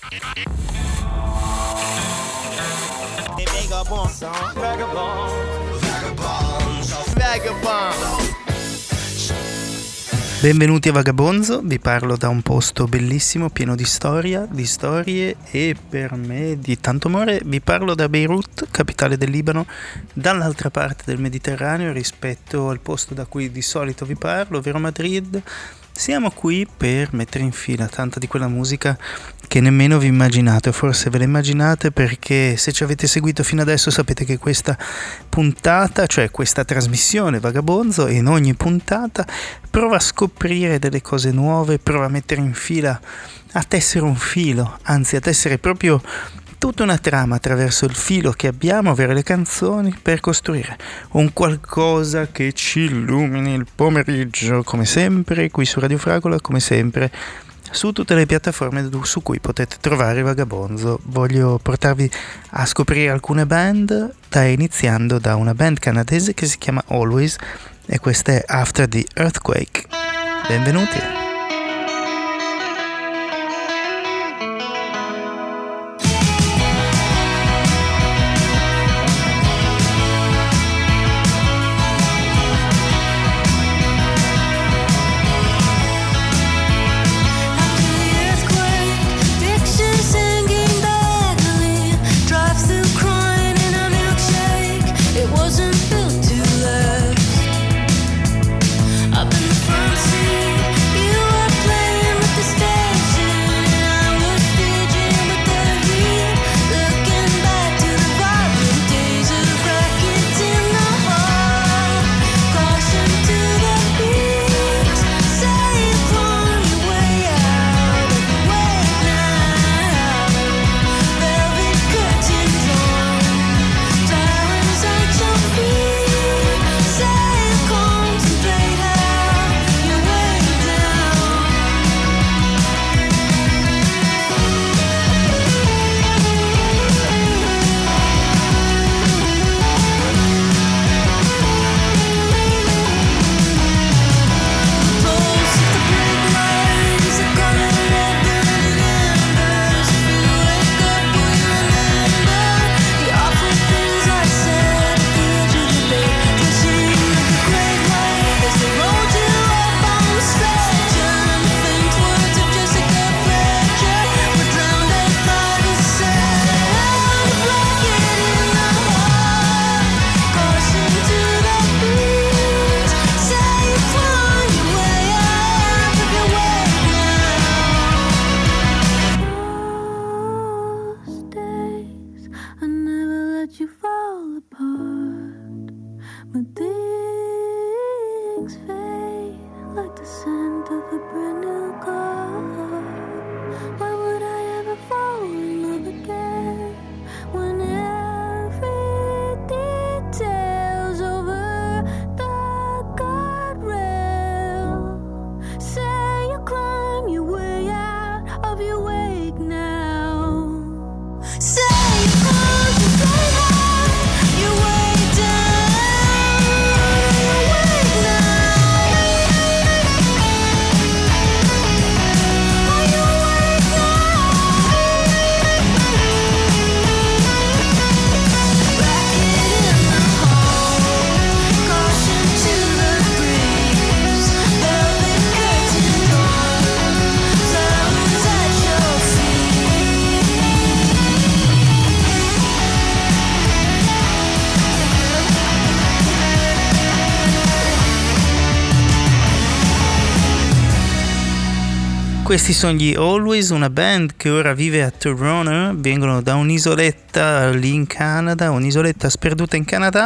Benvenuti a Vagabonzo, vi parlo da un posto bellissimo, pieno di storia, di storie e per me di tanto amore. Vi parlo da Beirut, capitale del Libano, dall'altra parte del Mediterraneo rispetto al posto da cui di solito vi parlo, ovvero Madrid. Siamo qui per mettere in fila tanta di quella musica che nemmeno vi immaginate, forse ve la immaginate perché se ci avete seguito fino adesso sapete che questa puntata, cioè questa trasmissione Vagabonzo, in ogni puntata prova a scoprire delle cose nuove, prova a mettere in fila, a tessere un filo, anzi a tessere proprio tutta una trama attraverso il filo che abbiamo, ovvero le canzoni, per costruire un qualcosa che ci illumini il pomeriggio, come sempre, qui su Radio Fragola, come sempre, su tutte le piattaforme su cui potete trovare Vagabonzo. Voglio portarvi a scoprire alcune band, iniziando da una band canadese che si chiama Always, e questa è After the Earthquake. Benvenuti! Questi sono gli Always, una band che ora vive a Toronto, vengono da un'isoletta lì in Canada, un'isoletta sperduta in Canada,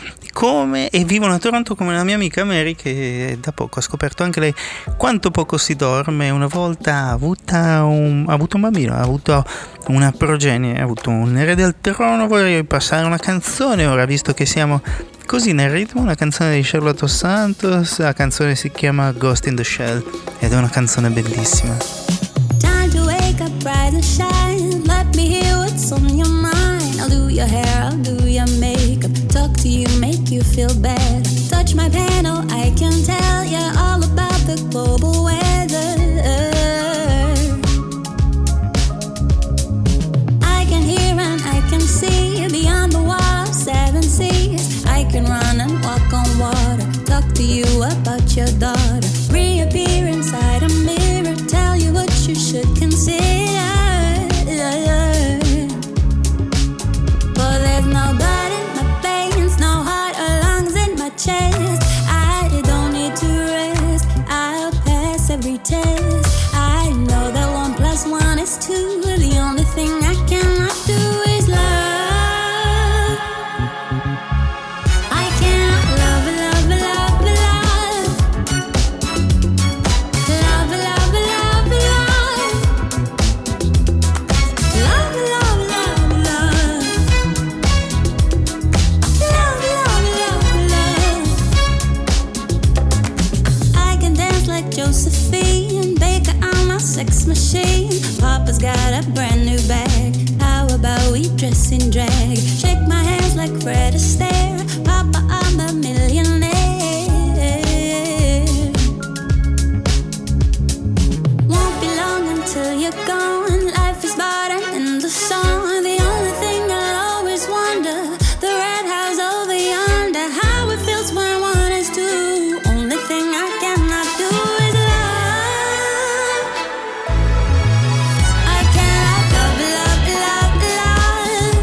e vivono a Toronto come la mia amica Mary, che da poco ha scoperto anche lei quanto poco si dorme. Una volta ha avuto un bambino, ha avuto una progenie, ha avuto un erede al trono. Vorrei passare una canzone ora, visto che siamo così nel ritmo, una canzone di Charlotte Dos Santos. La canzone si chiama Ghost in the Shell ed è una canzone bellissima. Time to wake up, rise and shine. Let me hear what's on your mind. I'll do your hair, I'll do your makeup, talk to you, make you feel better. Touch my panel, I can tell you all about the global weather. not your daughter. Reappear inside a mirror, tell you what you should consider. But there's no blood in my veins, no heart or lungs in my chest. I don't need to rest, I'll pass every test. I know that 1 + 1 is 2. The only thing I cannot do is love. I cannot love, love, love, love. Love, love, love, love. Love, love, love, love. Love, love, love, love. I can dance like Josephine, Baker on my sex machine. Papa's got a brand new bag. How about we dress in drag? Shake my hands like Fred Astaire. Papa, I'm a millionaire. Won't be long until you're gone. Life is but an endless song. The only thing I'll always wonder, the red house over yonder, how it feels when 1 is 2. Only thing I cannot do is love. I cannot love, love, love, love.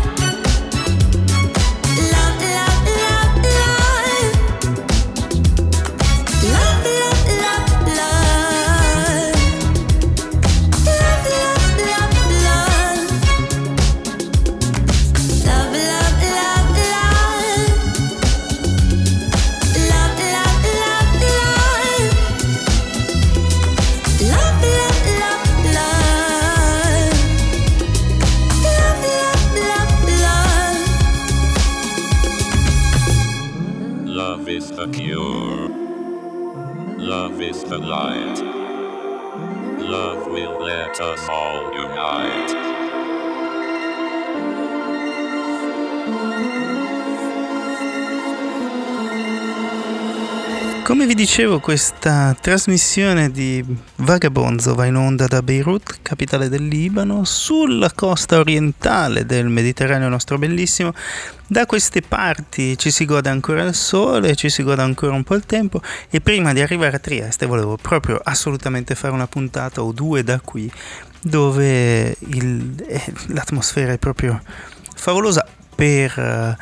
Love, love, love, love. Love, love, love, love. Love, love, love, love. Love, love, love, love. Love, love, love, love. Love, love, love, love. Love, love, love, love. Love is the cure. Love is the light. Love will let us all unite. Come vi dicevo, questa trasmissione di Vagabonzo va in onda da Beirut, capitale del Libano, sulla costa orientale del Mediterraneo nostro bellissimo. Da queste parti ci si gode ancora il sole, ci si gode ancora un po' il tempo, e prima di arrivare a Trieste volevo proprio assolutamente fare una puntata o 2 da qui, dove l'atmosfera è proprio favolosa per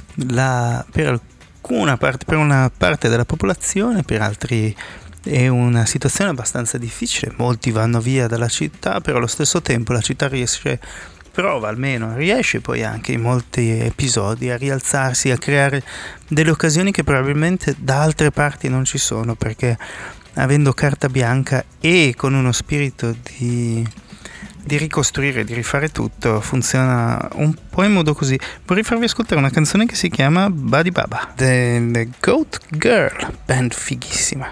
una parte della popolazione, per altri è una situazione abbastanza difficile. Molti vanno via dalla città, però allo stesso tempo la città riesce poi anche in molti episodi a rialzarsi, a creare delle occasioni che probabilmente da altre parti non ci sono, perché avendo carta bianca e con uno spirito di ricostruire, di rifare tutto, funziona un po' in modo così. Vorrei farvi ascoltare una canzone che si chiama Badi Baba, The Goat Girl, band fighissima.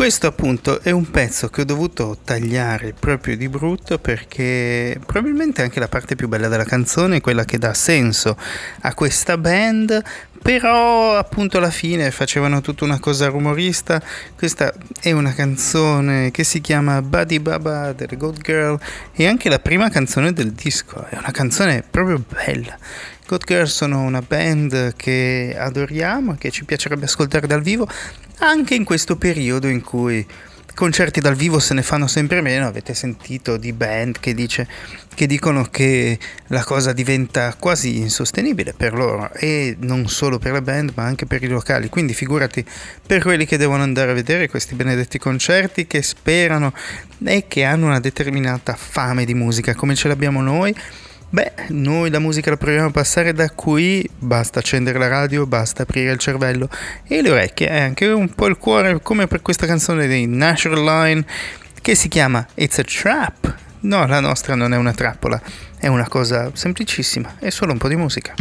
Questo appunto è un pezzo che ho dovuto tagliare proprio di brutto, perché probabilmente anche la parte più bella della canzone è quella che dà senso a questa band, però appunto alla fine facevano tutta una cosa rumorista. Questa è una canzone che si chiama Buddy Baba delle Goat Girl, e anche la prima canzone del disco, è una canzone proprio bella. Goat Girl sono una band che adoriamo, che ci piacerebbe ascoltare dal vivo, anche in questo periodo in cui concerti dal vivo se ne fanno sempre meno. Avete sentito di band che dicono che la cosa diventa quasi insostenibile per loro, e non solo per la band ma anche per i locali, quindi figurati per quelli che devono andare a vedere questi benedetti concerti, che sperano e che hanno una determinata fame di musica come ce l'abbiamo noi. Beh, noi la musica la proviamo a passare da qui, basta accendere la radio, basta aprire il cervello e le orecchie, e anche un po' il cuore, come per questa canzone di Natural Line che si chiama It's a Trap. No, la nostra non è una trappola, è una cosa semplicissima, è solo un po' di musica.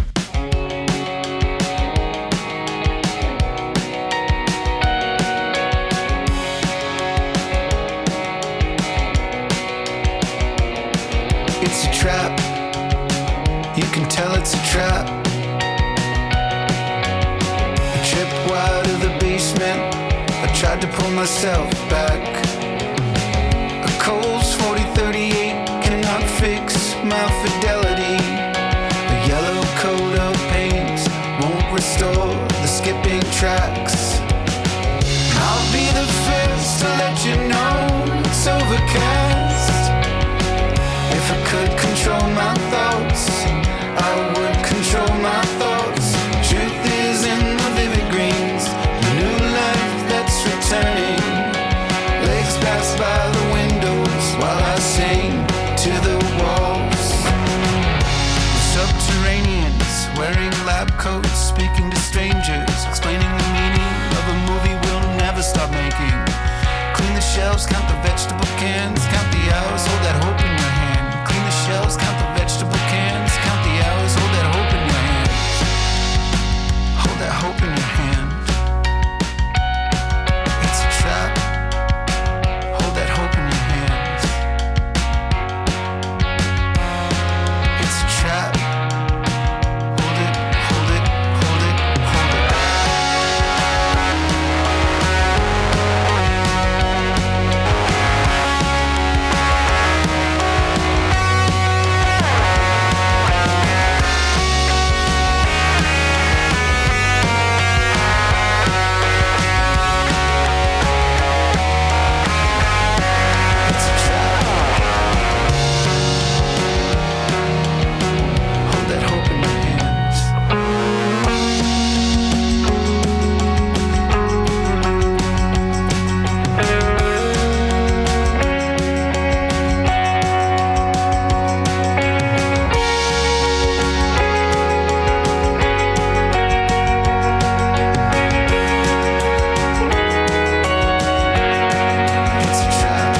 It's a trap. You can tell it's a trap. I tripped out of the basement. I tried to pull myself back. A Coles 4038 cannot fix my fidelity. A yellow coat of paint won't restore the skipping tracks. I'll be the first to let you know it's overcast. If I could control my thoughts, I would control my thoughts. Truth is in the vivid greens, the new life that's returning. Legs pass by the windows while I sing to the walls. Subterraneans wearing lab coats, speaking to strangers, explaining the meaning of a movie we'll never stop making. Clean the shelves, count the vegetable cans, count the hours, hold that hope in your hand. Clean the shelves, count the vegetable cans, count the hours, hold that hope in your hand. Hold that hope in your hand. It's a trap. Hold that hope in your hands. It's a trap. Hold it, hold it, hold it, hold it. It's a trap. Hold that hope in your hands. It's a trap.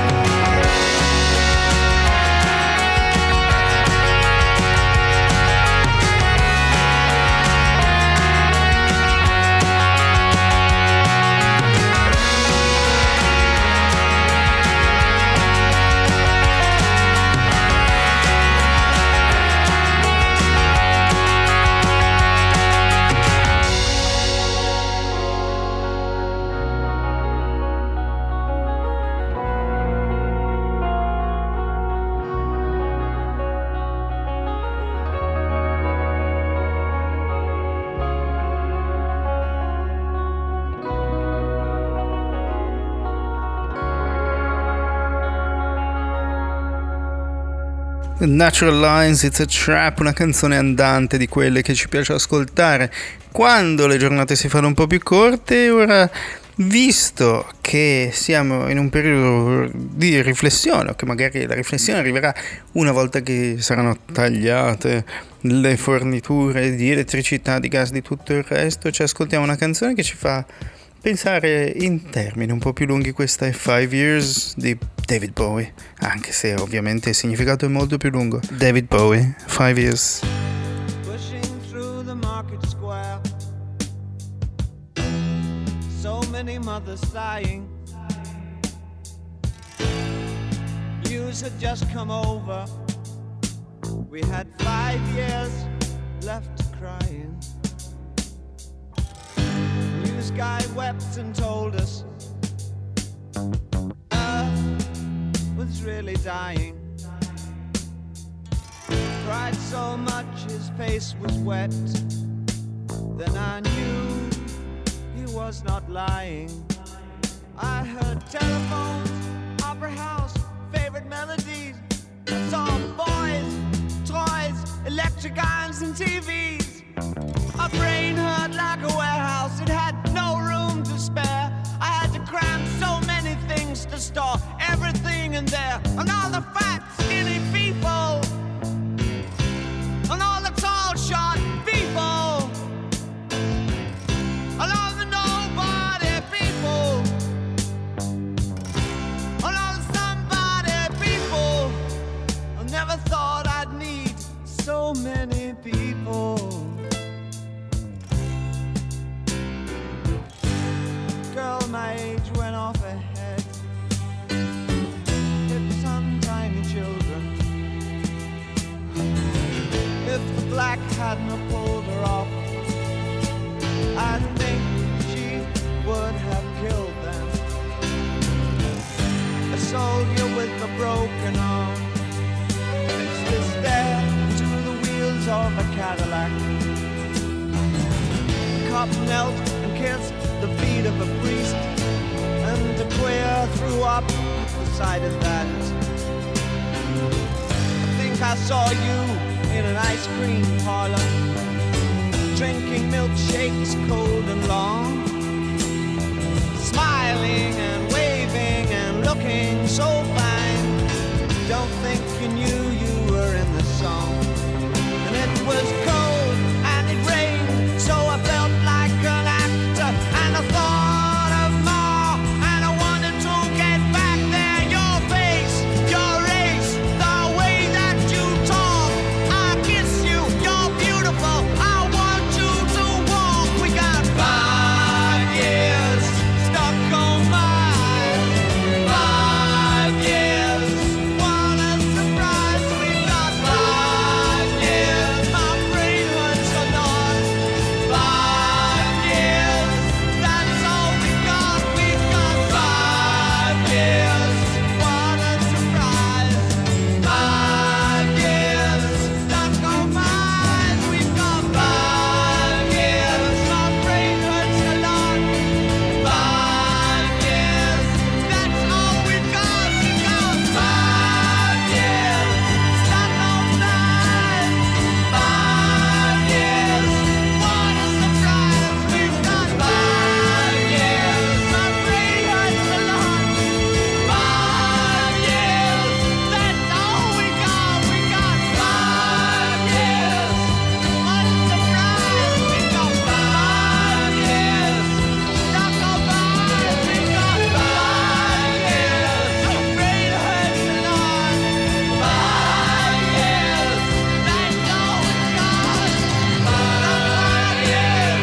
Natural Lines, It's a Trap, una canzone andante di quelle che ci piace ascoltare quando le giornate si fanno un po' più corte. Ora, visto che siamo in un periodo di riflessione, o che magari la riflessione arriverà una volta che saranno tagliate le forniture di elettricità, di gas, di tutto il resto, ci ascoltiamo una canzone che ci fa pensare in termini un po' più lunghi. Questa è 5 Years di David Bowie, anche se ovviamente il significato è molto più lungo. David Bowie, 5 Years. Pushing through the market square, so many mothers sighing, news had just come over. We had 5 years left crying. The news guy wept and told us Earth was really dying. Cried so much his face was wet. Then I knew he was not lying. I heard telephones, opera house, favorite melodies. Saw boys, toys, electric irons and TVs. My brain hurt like a warehouse, it had no room to spare. I had to cram so many things to store everything in there. And all the fat, skinny people, and all the tall, short people, and all the nobody people, and all the somebody people. I never thought I'd need so many people. Girl my age went off ahead, hips on tiny children. If the black hadn't have pulled her off, I think she would have killed them. A soldier with a broken arm fixed his stare to the wheels of a Cadillac. A cop knelt and kissed the feet of a priest, and a queer threw up the sight of that. I think I saw you in an ice cream parlor, drinking milkshakes cold and long, smiling and waving and looking so fine. Don't think you knew you were in the song. And it was cold and it rained, so I felt like an actor, and I thought of more, and I wanted to get back there. Your face, your race, the way that you talk, I kiss you, you're beautiful, I want you to walk. We got 5 years stuck on mine, 5 years, what a surprise. We got 5 years, my brain hurts a lot. 5 years, that's all we got. We got 5 years, what a surprise. 5 years, stuck on mine. We've got 5 years, my brain hurts a lot. 5 years, that's all we've got. We got 5 years, stuck on mine. 5 years, what a surprise. We've got 5 years, my brain hurts a lot. 5 years, that's all we got. We got 5 years, what a surprise. We got 5 years, stuck on mine. We got 5 years, my brain hurts a lot. 5 years, that's all we got. 5 years,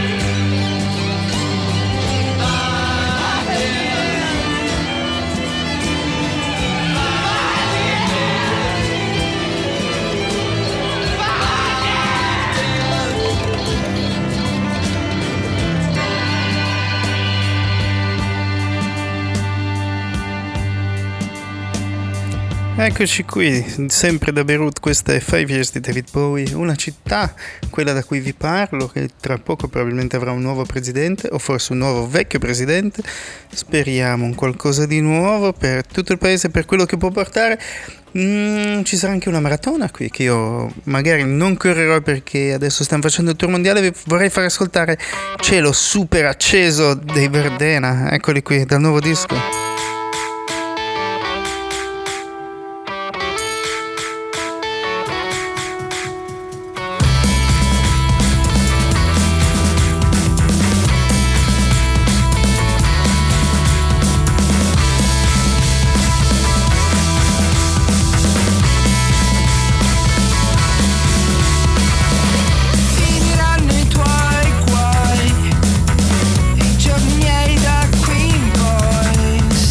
5 years. Eccoci qui, sempre da Beirut. Questa è 5 Years di David Bowie, una città, quella da cui vi parlo, che tra poco probabilmente avrà un nuovo presidente, o forse un nuovo vecchio presidente. Speriamo un qualcosa di nuovo per tutto il paese, per quello che può portare. Ci sarà anche una maratona qui, che io magari non correrò perché adesso stanno facendo il tour mondiale. Vi vorrei far ascoltare Cielo super acceso dei Verdena, eccoli qui dal nuovo disco. Finiranno i tuoi guai, i giorni miei da qui in poi.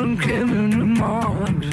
on giving them arms.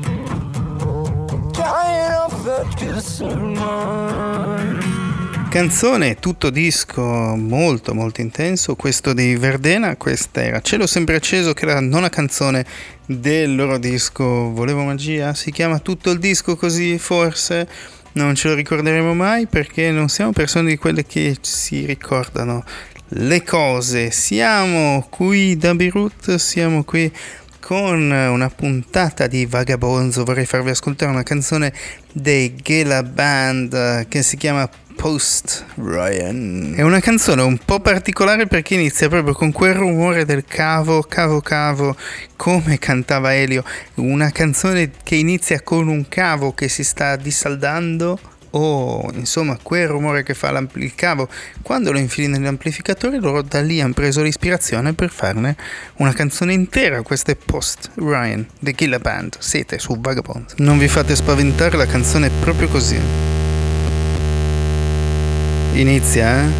Dying of the discernment. Canzone, tutto disco molto molto intenso, questo di Verdena. Questa era Cielo sempre acceso, che era la nona canzone del loro disco Volevo Magia. Si chiama tutto il disco così, forse non ce lo ricorderemo mai, perché non siamo persone di quelle che si ricordano le cose. Siamo qui da Beirut, siamo qui con una puntata di Vagabonzo. Vorrei farvi ascoltare una canzone dei Gela Band che si chiama Post Ryan. È una canzone un po' particolare perché inizia proprio con quel rumore del cavo, come cantava Elio. Una canzone che inizia con un cavo che si sta dissaldando, o insomma quel rumore che fa il cavo quando lo infili nell'amplificatore. Loro da lì hanno preso l'ispirazione per farne una canzone intera. Questa è Post Ryan The Gila Band. Siete su Vagabond, non vi fate spaventare, la canzone è proprio così. Inizia,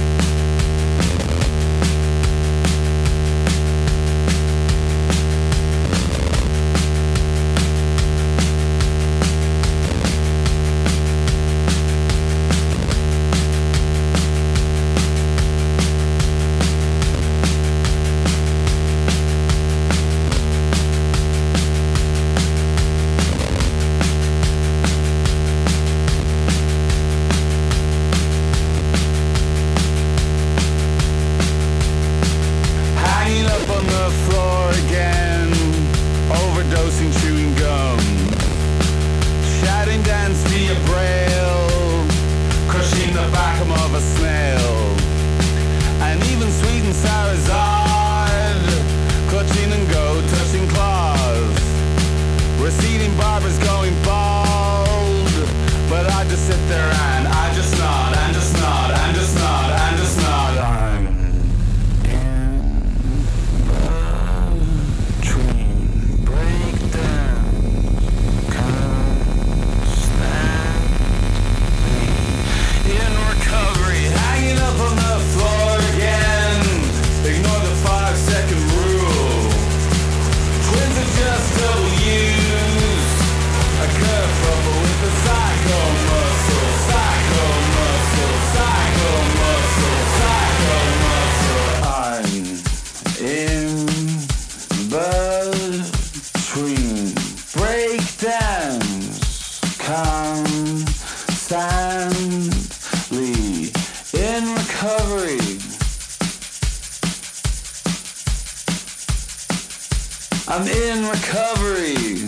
I'm in recovery.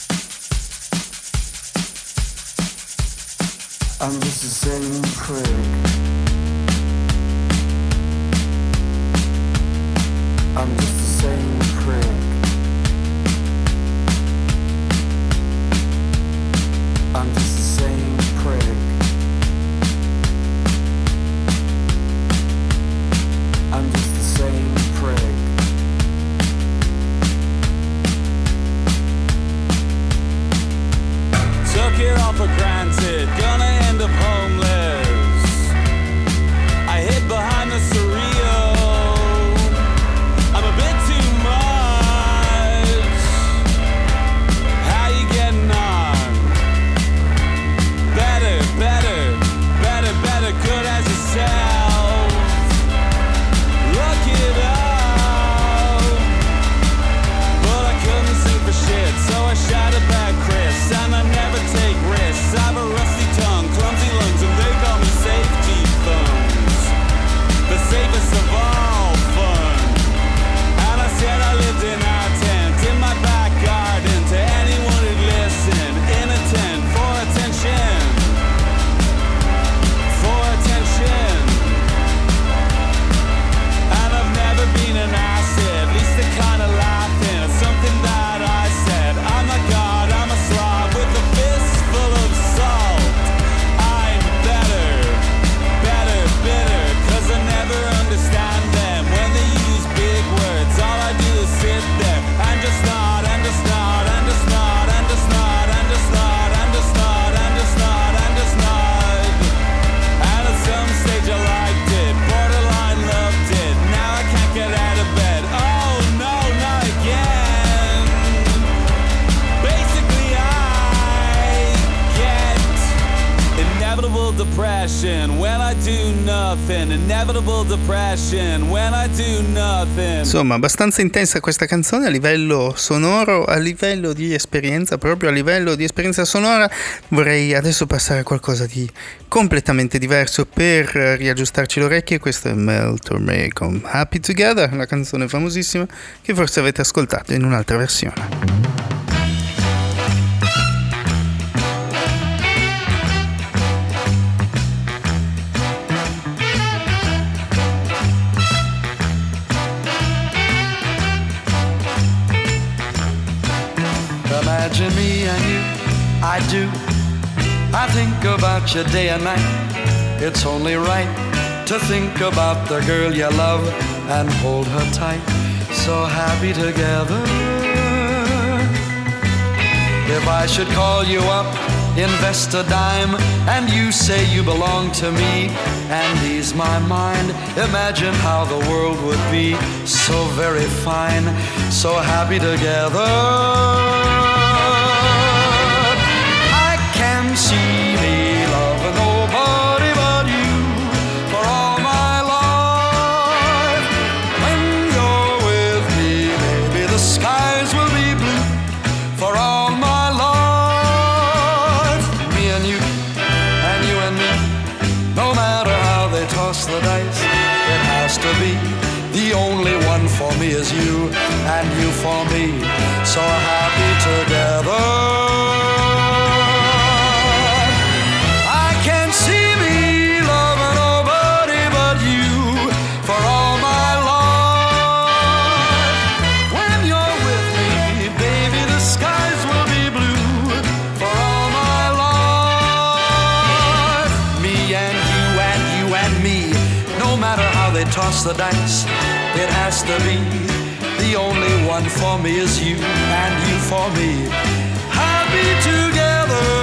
I'm just the same prick. I'm just the same prick. I'm just the same prick. I'm just the same prick. Took it all for granted, gonna end up homeless. I hid behind the surreal. I'm a bit passion when I do nothing, inevitable depression when I do nothing. Insomma, abbastanza intensa questa canzone a livello sonoro, a livello di esperienza, proprio a livello di esperienza sonora. Vorrei adesso passare a qualcosa di completamente diverso per riaggiustarci le orecchie. Questo è Mel Torme con Happy Together, la canzone famosissima che forse avete ascoltato in un'altra versione. Imagine me and you, I do. I think about you day and night. It's only right to think about the girl you love and hold her tight. So happy together. If I should call you up, invest a dime, and you say you belong to me and ease my mind, imagine how the world would be so very fine, so happy together. See me loving nobody but you for all my life. When you're with me, baby, the skies will be blue for all my life. Me and you and me, no matter how they toss the dice, it has to be the only one for me is you and you for me, so happy together. Toss the dice, it has to be the only one for me is you and you for me, happy together.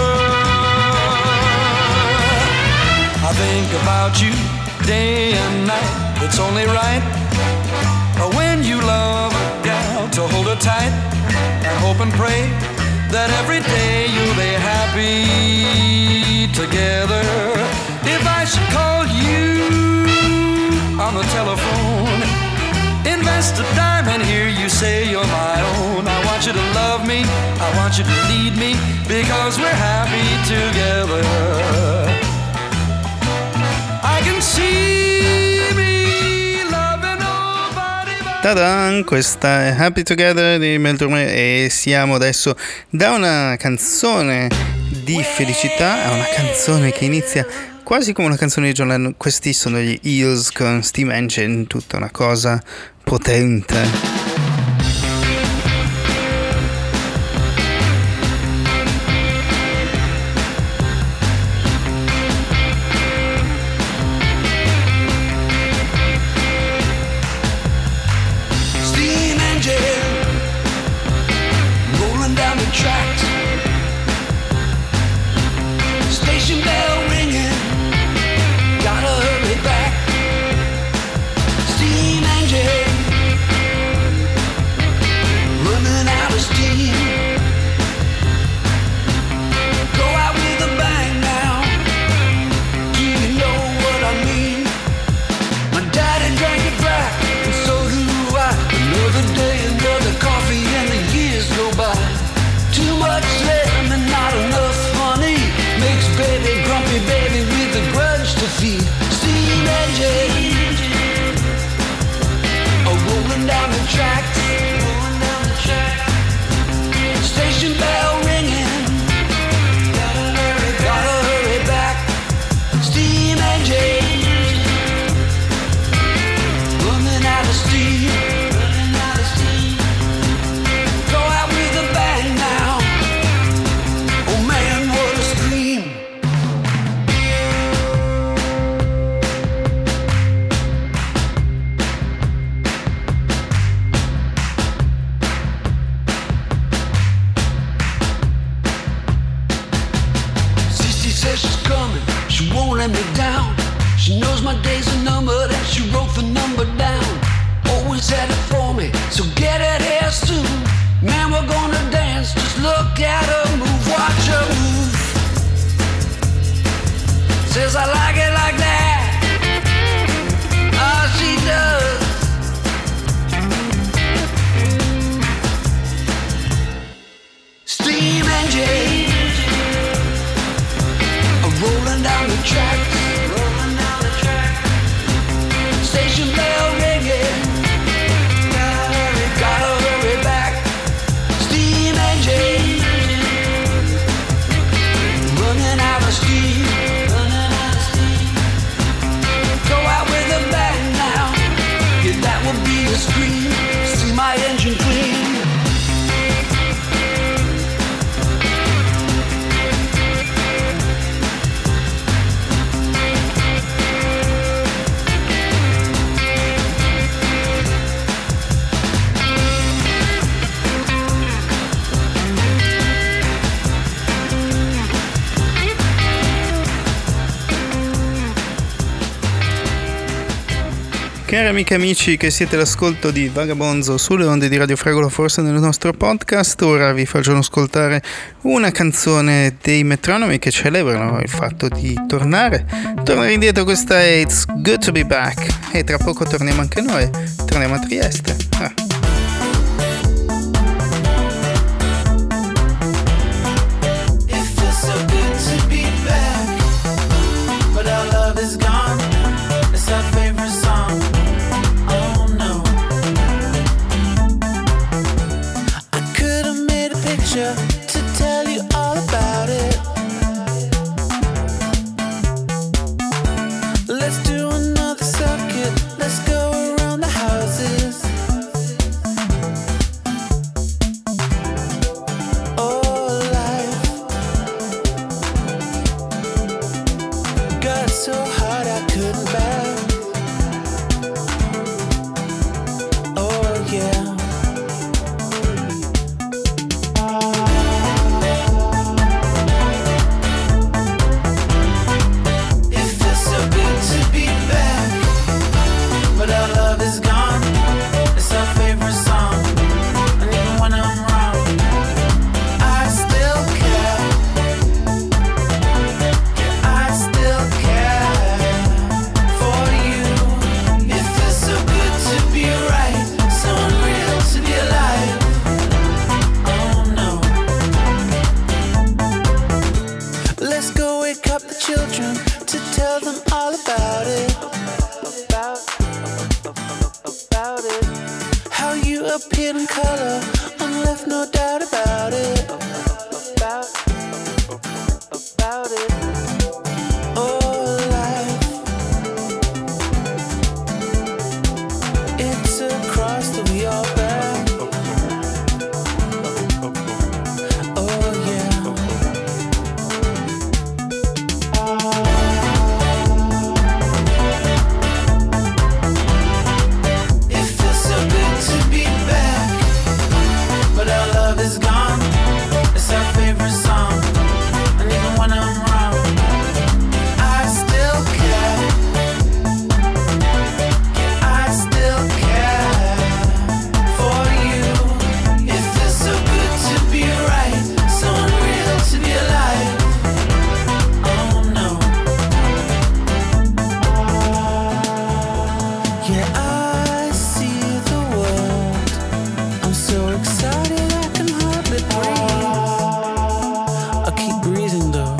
I think about you day and night. It's only right when you love a gal to hold her tight and hope and pray that every day you'll be happy together. If I should call you on the telephone, invest a dime and hear you say you're my own. I want you to love me, I want you to need me, because we're happy together. I can see me loving nobody but... Ta-da! Questa è Happy Together di Mel Torme e siamo adesso da una canzone di felicità a una canzone che inizia quasi come una canzone di John Lennon. Questi sono gli Eels con Steam Engine, tutta una cosa potente. says I like it like that. Oh, she does. Steam engine rolling down the track, station bell ringing, gotta hurry back. Steam engine running out of steam, go out with a bang now, yeah, that would be a scream. See my engine clean. Cari amiche e amici che siete all'ascolto di Vagabonzo sulle onde di Radio Fragola, forse nel nostro podcast, ora vi faccio ascoltare una canzone dei Metronomi che celebrano il fatto di tornare indietro. Questa è It's Good to Be Back e tra poco torniamo anche noi, torniamo a Trieste. To tell you all about it. Let's do another circuit. Let's go around the houses. Oh, life got so hard I couldn't bear. Oh, yeah. Appeared in color and left no doubt about it. About it. Oh, life, it's a cross that we all bear. Oh, yeah. It feels so good to be back, but our love is gone. It's our favorite song, and even when I'm wrong, I still care. I still care for you. It feels so good to be right, so unreal to be alive. Oh no. Yeah, I see the world. I'm so excited I can hardly breathe. I'll keep breathing though.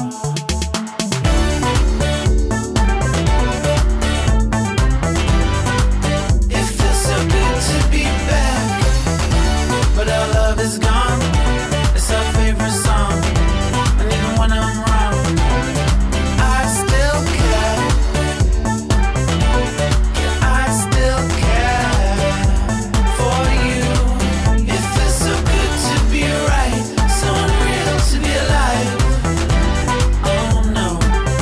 It feels so good to be back, but our love is gone. It's our favorite song, and even when I'm wrong, I still care. I still care for you. It feels so good to be right, so unreal to be alive. Oh no.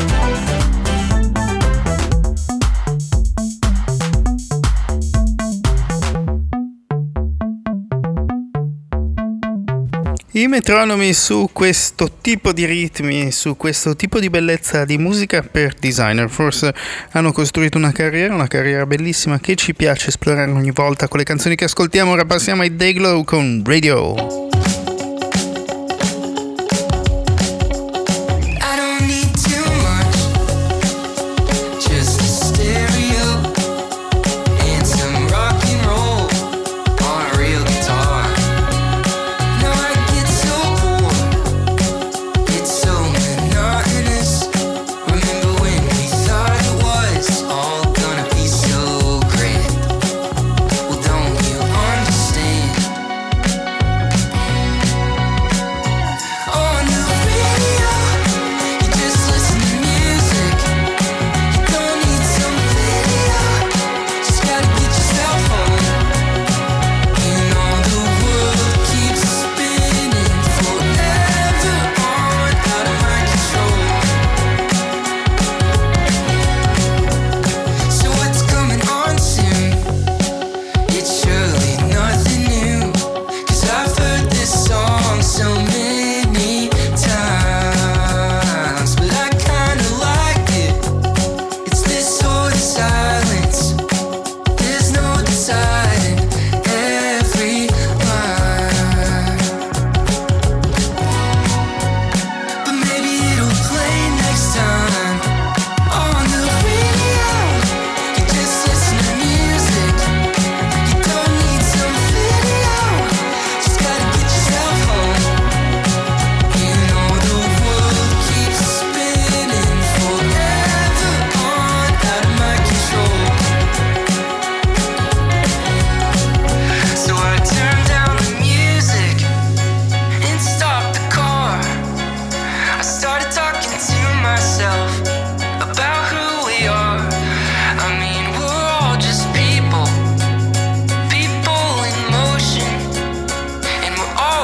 I Metronomi su questo tipo di ritmi, su questo tipo di bellezza di musica per designer. Forse hanno costruito una carriera bellissima che ci piace esplorare ogni volta con le canzoni che ascoltiamo. Ora passiamo ai Dayglow con Radio. I don't need too much.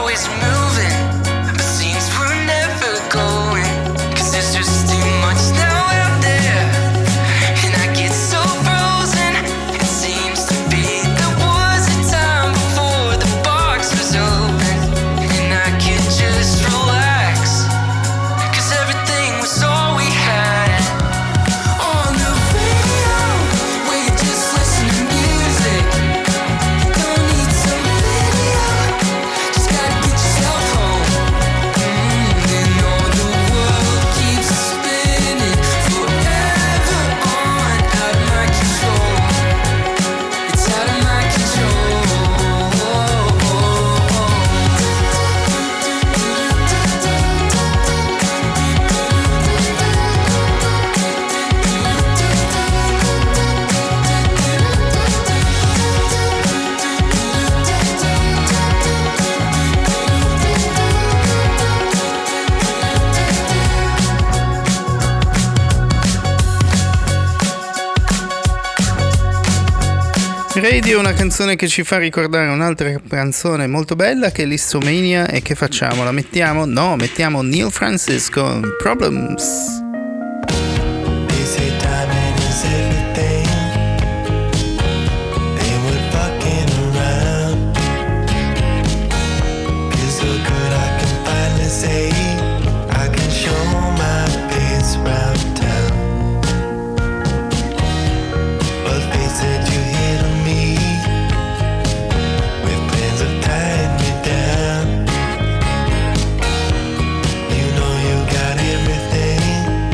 always moving, but seems we're never going. 'Cause there's just too much now out there, and I get so frozen. It seems to be there was a time before the box was open, and I could just relax, 'cause everything was all we had. On the radio, where you just listen to music. You don't need some video, just gotta get yourself home. And all the world keeps spinning forever on, out of my control. It's out of my control. Radio è una canzone che ci fa ricordare un'altra canzone molto bella che è l'Istomania. E che facciamo? La mettiamo? No, mettiamo Neil Francis con Problems. They say timing is everything. They were fucking around. Feels so good I can finally say I can show my face round town. But face it, you hit on me with plans of tying me down. You know you got everything.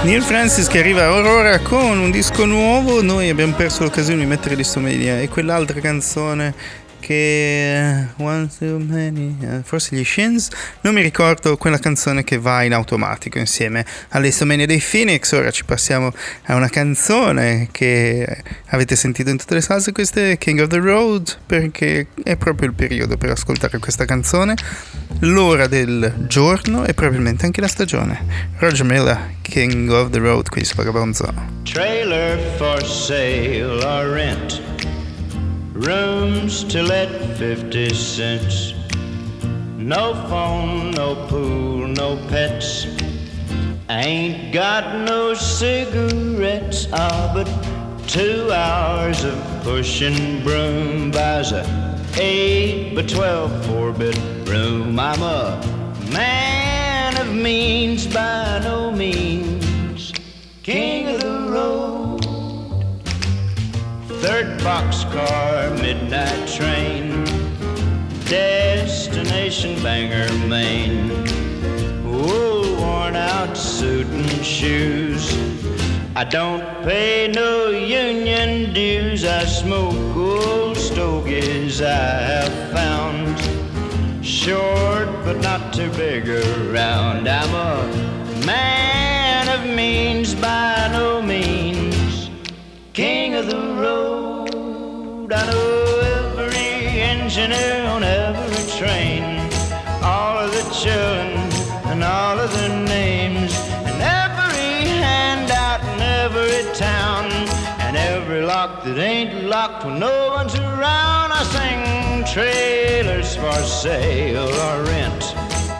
Neil Francis che arriva a Aurora con un disco nuovo. Noi abbiamo perso l'occasione di mettere l'Istomania e quell'altra canzone che One Too Many, forse gli Shins, non mi ricordo, quella canzone che va in automatico insieme all'Istomania dei Phoenix. Ora ci passiamo a una canzone che avete sentito in tutte le salse, questa è King of the Road, perché è proprio il periodo per ascoltare questa canzone, l'ora del giorno e probabilmente anche la stagione. Roger Miller, King of the Road, qui su Vagabonzo. Trailer for sale or rent, rooms to let 50 cents. No phone, no pool, no pets. Ain't got no cigarettes. But 2 hours of pushing broom buys a 8 by 12 4-bedroom. I'm a man of means by no means, king of the road. Third boxcar, midnight train, destination Bangor, Maine. Wool worn out suit and shoes. I don't pay no union dues. I smoke old stogies I have found, short but not too big around. I'm a man of means by no means, king of the road. I know every engineer on every train, all of the children and all of their names, and every handout in every town, and every lock that ain't locked when no one's around. I sing trailers for sale or rent,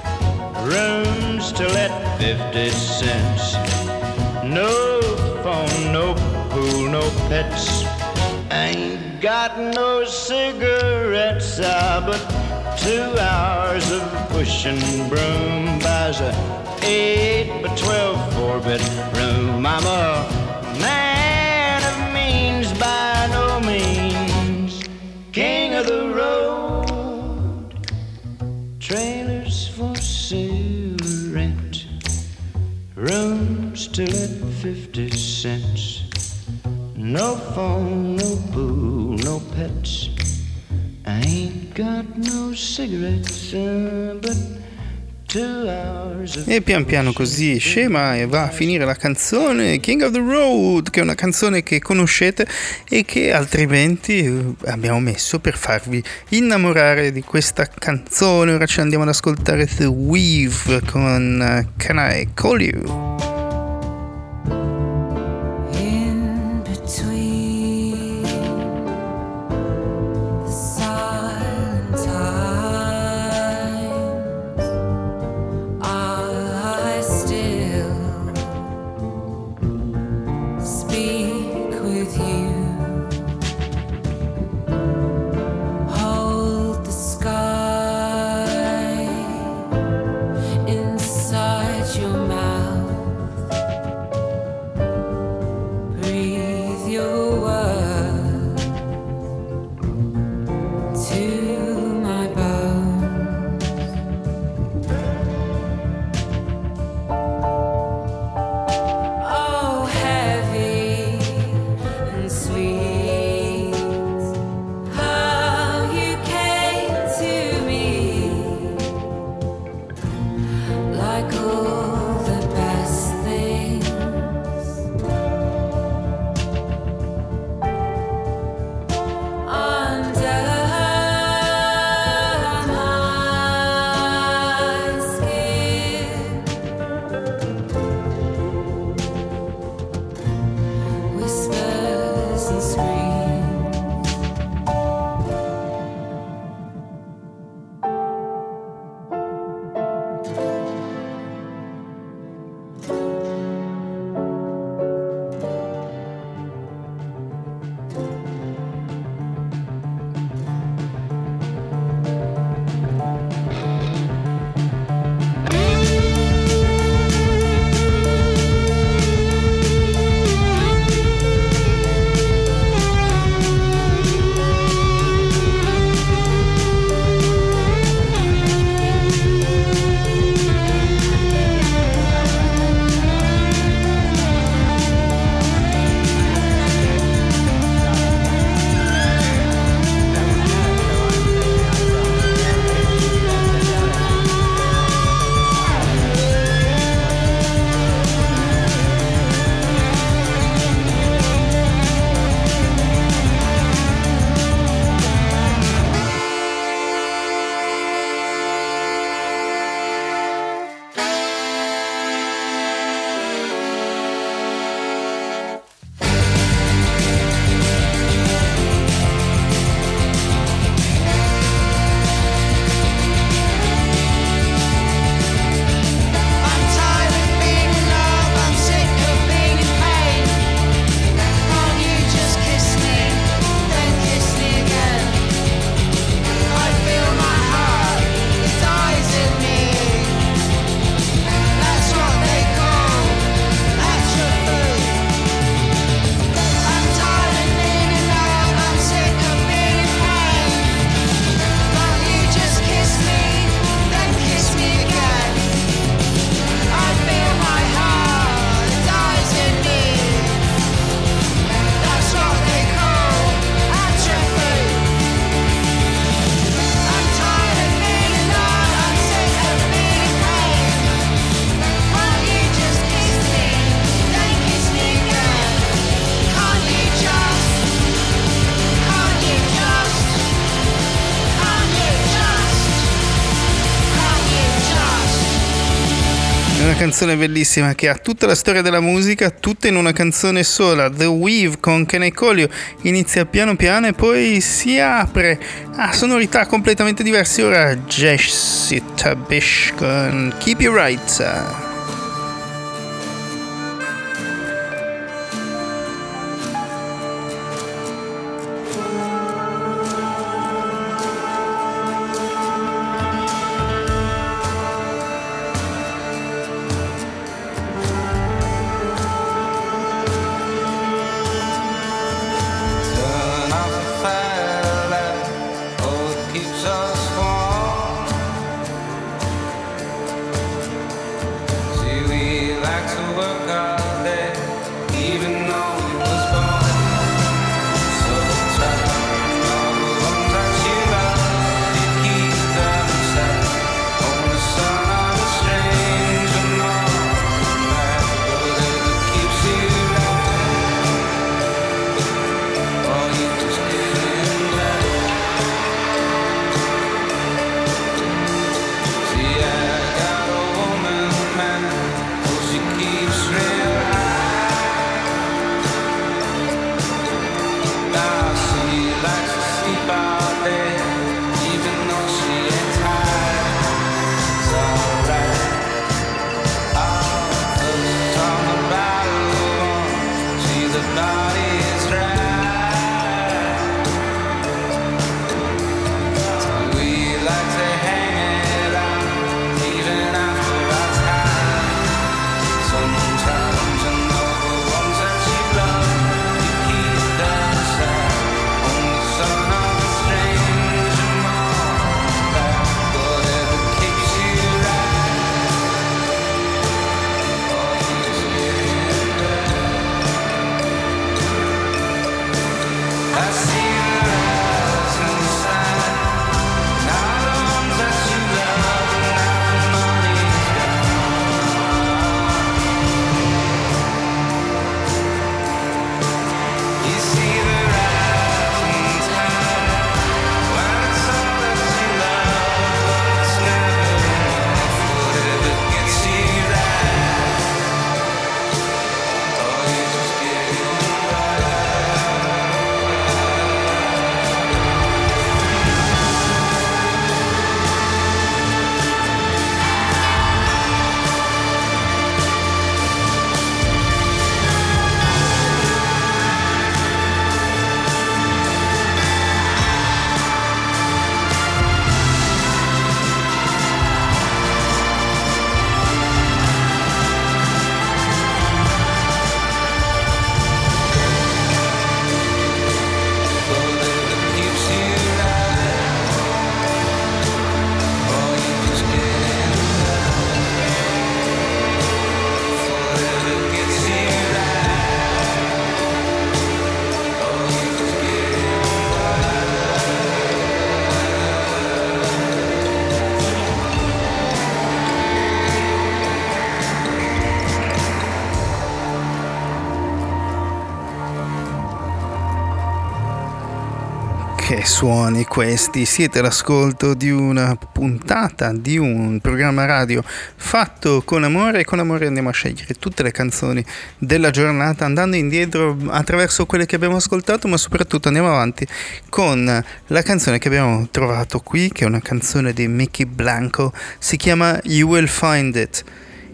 rooms to let 50 cents. No phone, no pool, no pets. Ain't got no cigarettes, but 2 hours of pushing broom buys a 8 by 12 4-bedroom. I'm a man of means by no means, king of the road. Trailers for sale, rent, rooms to let 50 cents. No phone, no pool, no pets. I ain't got no cigarettes, but 2 hours of... E pian piano così scema e va a finire la canzone King of the Road, che è una canzone che conoscete e che altrimenti abbiamo messo per farvi innamorare di questa canzone. Ora ci andiamo ad ascoltare The Weave con Can I Call You? Inside your mouth, canzone bellissima che ha tutta la storia della musica, tutta in una canzone sola. The Weave con Can I Call You inizia piano piano e poi si apre a sonorità completamente diverse. Ora Jessica Bish con Keep You Right. Che suoni questi! Siete all'ascolto di una puntata di un programma radio fatto con amore, e con amore andiamo a scegliere tutte le canzoni della giornata andando indietro attraverso quelle che abbiamo ascoltato, ma soprattutto andiamo avanti con la canzone che abbiamo trovato qui, che è una canzone di Mickey Blanco, si chiama You Will Find It.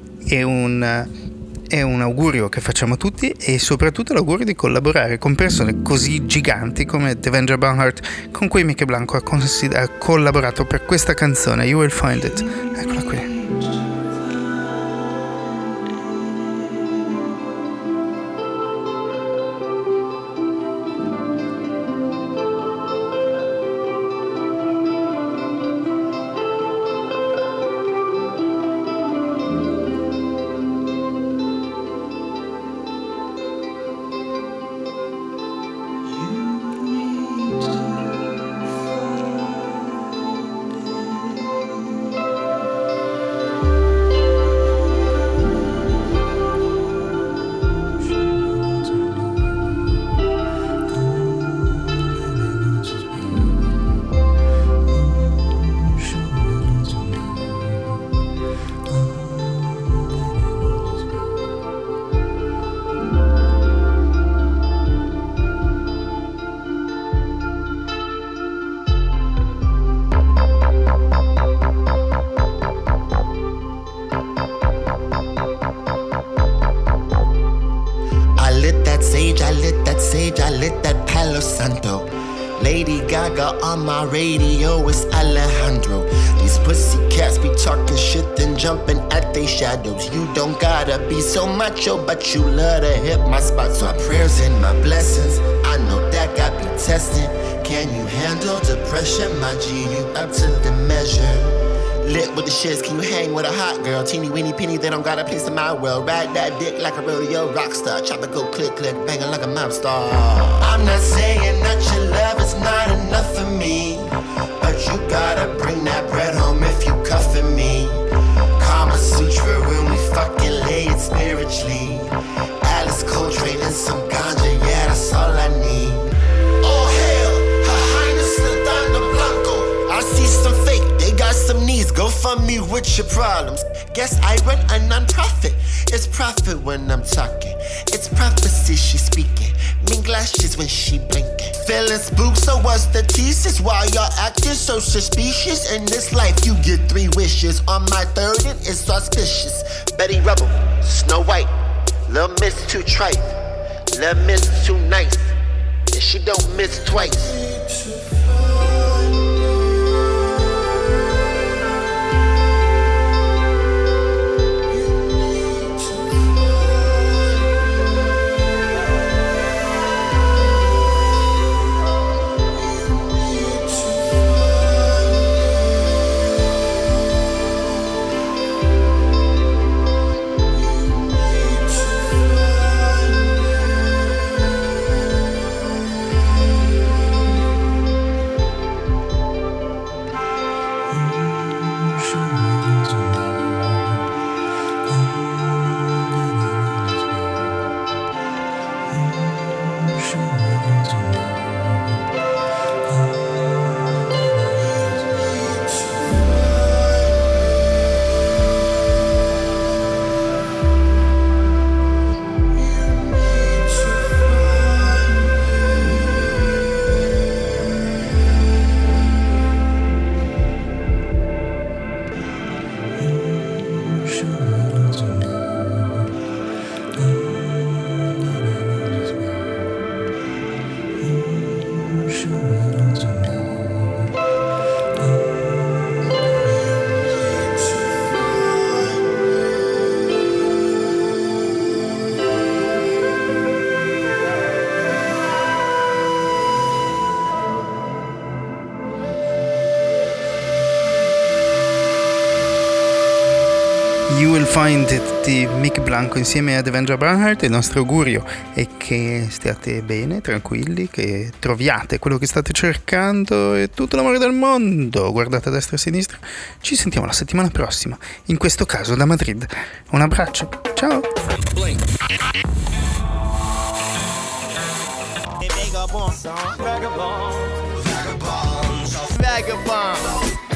È un augurio che facciamo a tutti e soprattutto l'augurio di collaborare con persone così giganti come Devendra Banhart, con cui Mickey Blanco ha collaborato per questa canzone, You Will Find It. Eccola qui. sage, I lit that sage, I lit that Palo Santo. Lady Gaga on my radio, it's Alejandro. These pussycats be talking shit then jumping at they shadows. You don't gotta be so macho, but you love to hit my spot. So my prayers and my blessings, I know that got me testing. Can you handle depression, my G? You up to the measure. Lit with the shits, can you hang with a hot girl? Teeny weeny penny, they don't got a place in my world. Ride that dick like a rodeo rock star. Chop it, go click, click, banging like a mob star. I'm not saying that your love is not enough for me, but you gotta bring that bread home if you cuffing me. Kama Sutra when we fucking lay it spiritually. Alice Coltrane and some ganja, yeah, that's all I need. Oh hell, Her Highness the Donna Blanco. I see some fake, they got some needs. Go fund me with your problems. Guess I run a non-profit. It's profit when I'm talking. It's prophecy she's speaking. Mean glasses when she blinking. Feeling spooked, so what's the thesis? Why y'all acting so suspicious? In this life you get 3 wishes. On my 3rd and it's auspicious. Betty Rubble, Snow White. Lil' Miss too trite. Lil' Miss too nice. And she don't miss twice. You Will Find It di Mick Blanco insieme ad Devendra Banhart. Il nostro augurio è che stiate bene, tranquilli, che troviate quello che state cercando e tutto l'amore del mondo. Guardate a destra e a sinistra. Ci sentiamo la settimana prossima, in questo caso da Madrid. Un abbraccio, ciao. Vagabond.